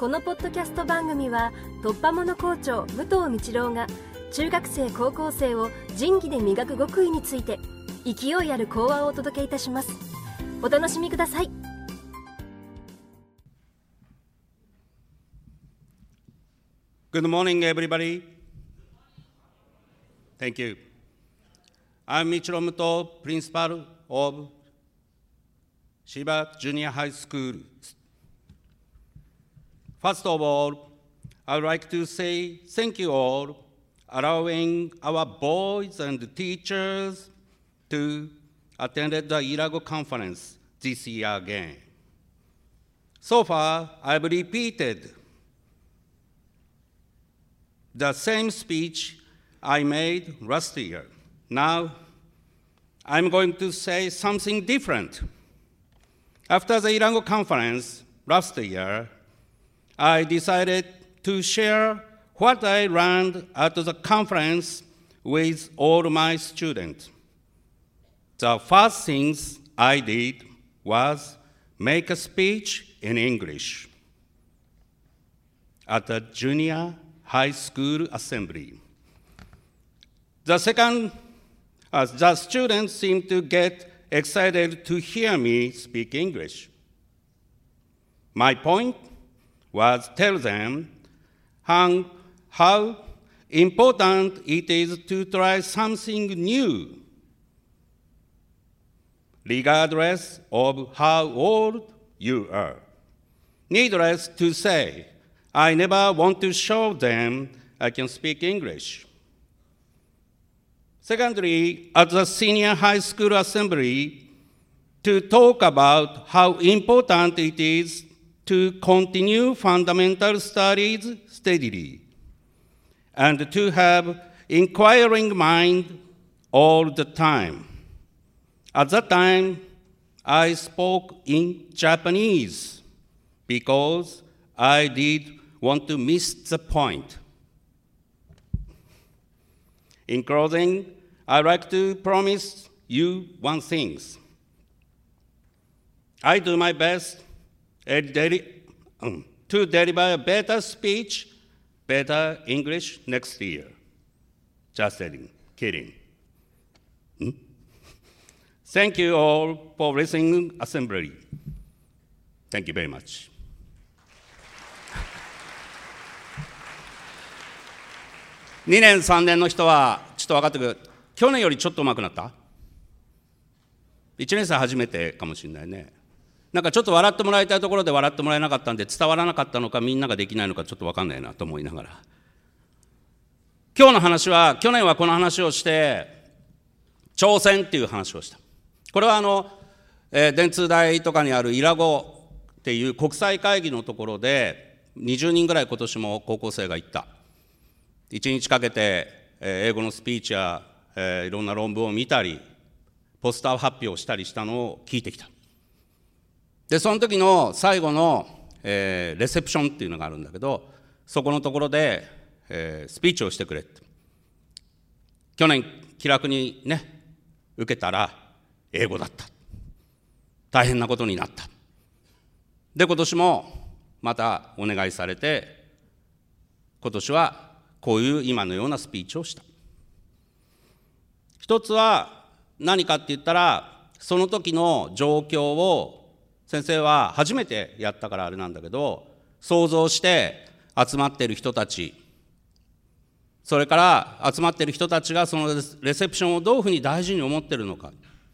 このポッドキャスト番組は突破者校長武藤道郎が中学生高校生を仁義で磨く極意について勢いある講話をお届けいたします。お楽しみください。 Good morning, everybody. Thank you. I'm Michiro Muto, principal of Shiba Junior High School. First of all, I would like to say thank you all allowing our boys and teachers to attend the Irago conference this year again. So far, I've repeated the same speech I made last year. Now, I'm going to say something different. After the Irago conference last year, I decided to share what I learned at the conference with all my students. The first things I did was make a speech in English at the junior high school assembly. The second, the students seemed to get excited to hear me speak English. My point was tell them how important it is to try something new, regardless of how old you are. Needless to say, I never want to show them I can speak English. Secondly, at the senior high school assembly, to talk about how important it is to continue fundamental studies steadily and to have inquiring mind all the time. At that time, I spoke in Japanese because I did want to miss the point. In closing, I'd like to promise you one thing. I do my best to deliver a better speech, better English next year. Just kidding. Thank you all for listening assembly. Thank you very much. 2年3年の人はちょっと分かってくる。去年よりちょっと上手くなった？ 1 年生初めてかもしれないね。なんかちょっと笑ってもらいたいところで笑ってもらえなかったんで伝わらなかったのかみんなができないのかちょっと分かんないなと思いながら。今日の話は、去年はこの話をして挑戦っていう話をした。これは電通大とかにあるイラゴっていう国際会議のところで20人ぐらい今年も高校生が行った。1日かけて英語のスピーチやいろんな論文を見たりポスター発表したりしたのを聞いてきた。でその時の最後の、レセプションっていうのがあるんだけど、そこのところで、スピーチをしてくれって。去年気楽にね受けたら英語だった。大変なことになった。で今年もまたお願いされて、今年はこういう今のようなスピーチをした。一つは何かって言ったら、その時の状況を先生は初めてやったからあれなんだけど、想像して集まっている人たち、それから集まっている人たちがそのレセプションをどういうふうに大事に思っているのか、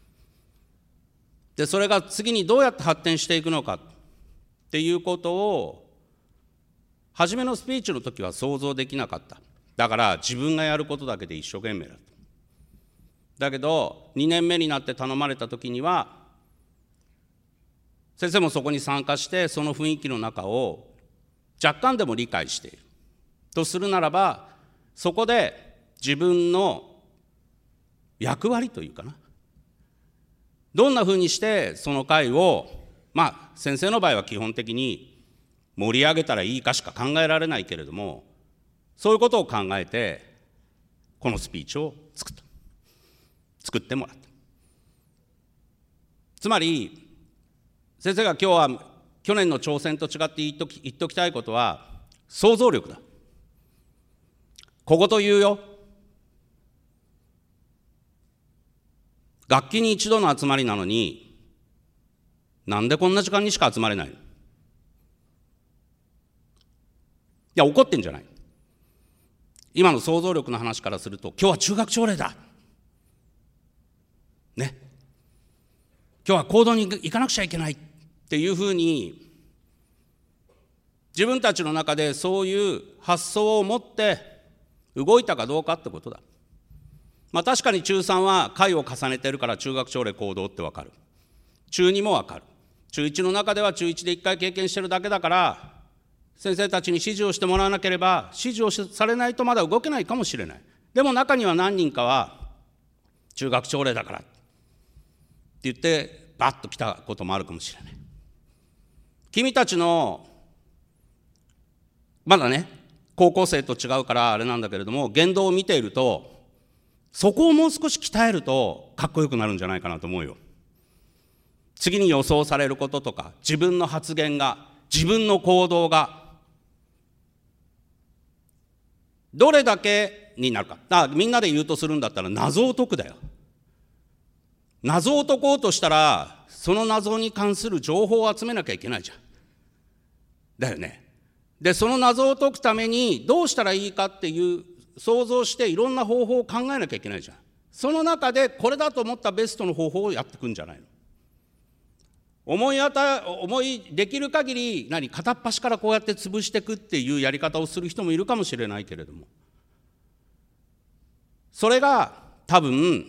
でそれが次にどうやって発展していくのかっていうことを初めのスピーチの時は想像できなかった。だから自分がやることだけで一生懸命だった。だけど2年目になって頼まれた時には先生もそこに参加してその雰囲気の中を若干でも理解しているとするならば、そこで自分の役割というかな、どんなふうにしてその会を先生の場合は基本的に盛り上げたらいいかしか考えられないけれども、そういうことを考えてこのスピーチを作ってもらった。つまり先生が今日は去年の挑戦と違って言っときたいことは、想像力だ。小言言うよ。学期に一度の集まりなのに、なんでこんな時間にしか集まれないの？いや、怒ってんじゃない。今の想像力の話からすると、今日は中学朝礼だ。ね。今日は行動に行かなくちゃいけないっていうふうに、自分たちの中でそういう発想を持って動いたかどうかってことだ。確かに中3は回を重ねてるから中学朝礼行動って分かる。中2も分かる。中1の中では中1で1回経験してるだけだから、先生たちに指示をしてもらわなければ、指示をされないとまだ動けないかもしれない。でも中には何人かは、中学朝礼だからって言って、バッと来たこともあるかもしれない。君たちの、まだね、高校生と違うからあれなんだけれども、言動を見ていると、そこをもう少し鍛えるとかっこよくなるんじゃないかなと思うよ。次に予想されることとか、自分の発言が、自分の行動がどれだけになるか。みんなで言うとするんだったら謎を解くだよ。謎を解こうとしたら、その謎に関する情報を集めなきゃいけないじゃん。だよね。で、その謎を解くためにどうしたらいいかっていう想像していろんな方法を考えなきゃいけないじゃん。その中でこれだと思ったベストの方法をやっていくんじゃないの。思いできる限り片っ端からこうやって潰していくっていうやり方をする人もいるかもしれないけれども、それが多分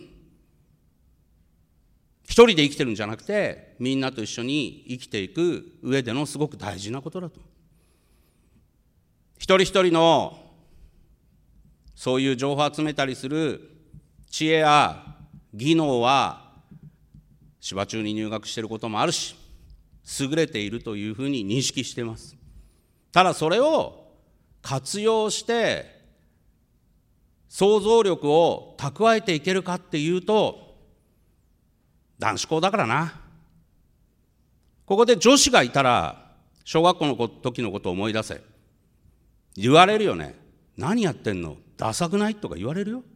一人で生きてるんじゃなくて、みんなと一緒に生きていく上でのすごく大事なことだと。一人一人のそういう情報を集めたりする知恵や技能は芝中に入学していることもあるし、優れているというふうに認識しています。ただそれを活用して想像力を蓄えていけるかっていうと、男子校だからな。ここで女子がいたら、小学校の時のことを思い出せ。言われるよね。何やってんの？ダサくない？とか言われるよ。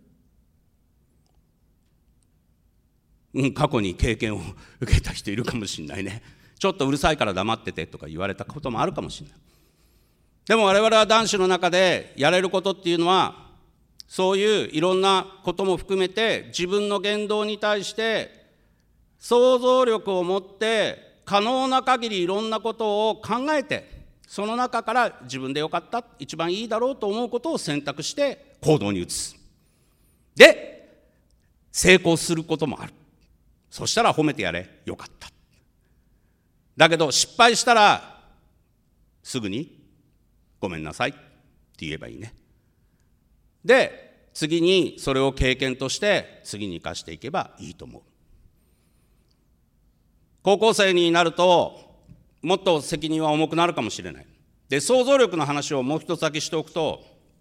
過去に経験を受けた人いるかもしれないね。ちょっとうるさいから黙っててとか言われたこともあるかもしれない。でも我々は男子の中でやれることっていうのは、そういういろんなことも含めて自分の言動に対して想像力を持って可能な限りいろんなことを考えて、その中から自分でよかった、一番いいだろうと思うことを選択して行動に移す。で、成功することもある。そしたら褒めてやれ、よかった。だけど失敗したらすぐにごめんなさいって言えばいいね。で、次にそれを経験として次に生かしていけばいいと思う。高校生になるともっと責任は重くなるかもしれない。で、想像力の話をもう一つだけしておくと、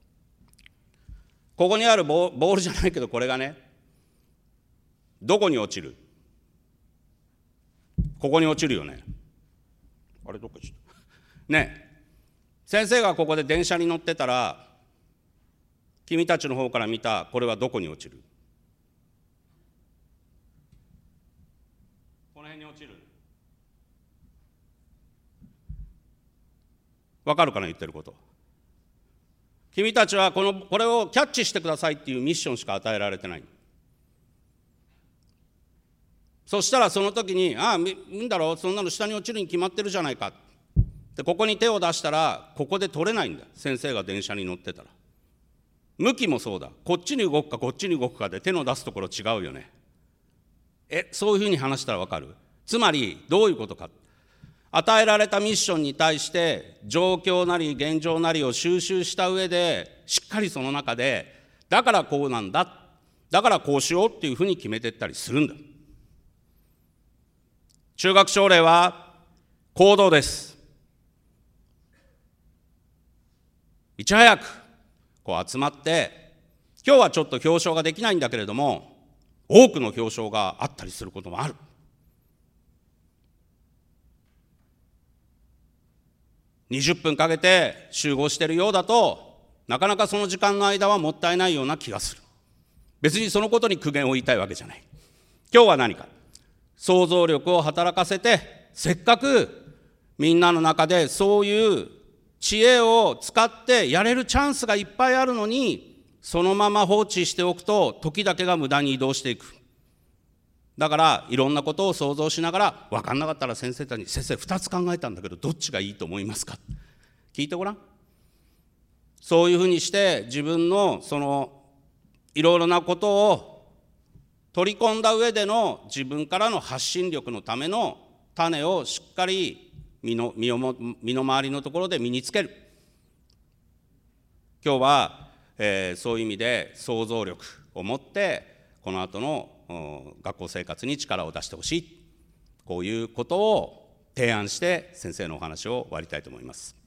ここにあるボールじゃないけど、これがね、どこに落ちる？ここに落ちるよね。あれどこ行った？ね、先生がここで電車に乗ってたら、君たちの方から見たこれはどこに落ちる？この辺に落ちる。わかるかな、言ってること。君たちはこれをキャッチしてくださいっていうミッションしか与えられてない。そしたらその時に、いいんだろう、そんなの下に落ちるに決まってるじゃないか。で、ここに手を出したらここで取れないんだ。先生が電車に乗ってたら。向きもそうだ。こっちに動くかこっちに動くかで手の出すところ違うよね。そういうふうに話したらわかる？つまりどういうことか。与えられたミッションに対して状況なり現状なりを収集した上で、しっかりその中でだからこうなんだ、だからこうしようっていうふうに決めていったりするんだ。中学朝礼は行動です。いち早くこう集まって、今日はちょっと表彰ができないんだけれども、多くの表彰があったりすることもある。 20分かけて集合しているようだと、なかなかその時間の間はもったいないような気がする。別にそのことに苦言を言いたいわけじゃない。今日は何か、想像力を働かせて、せっかくみんなの中でそういう知恵を使ってやれるチャンスがいっぱいあるのに、そのまま放置しておくと時だけが無駄に移動していく。だからいろんなことを想像しながら、分かんなかったら先生たちに、先生2つ考えたんだけどどっちがいいと思いますか、聞いてごらん。そういうふうにして自分のそのいろいろなことを取り込んだ上での自分からの発信力のための種をしっかり身の回りのところで身につける。今日は、そういう意味で想像力を持ってこの後の学校生活に力を出してほしい、こういうことを提案して先生のお話を終わりたいと思います。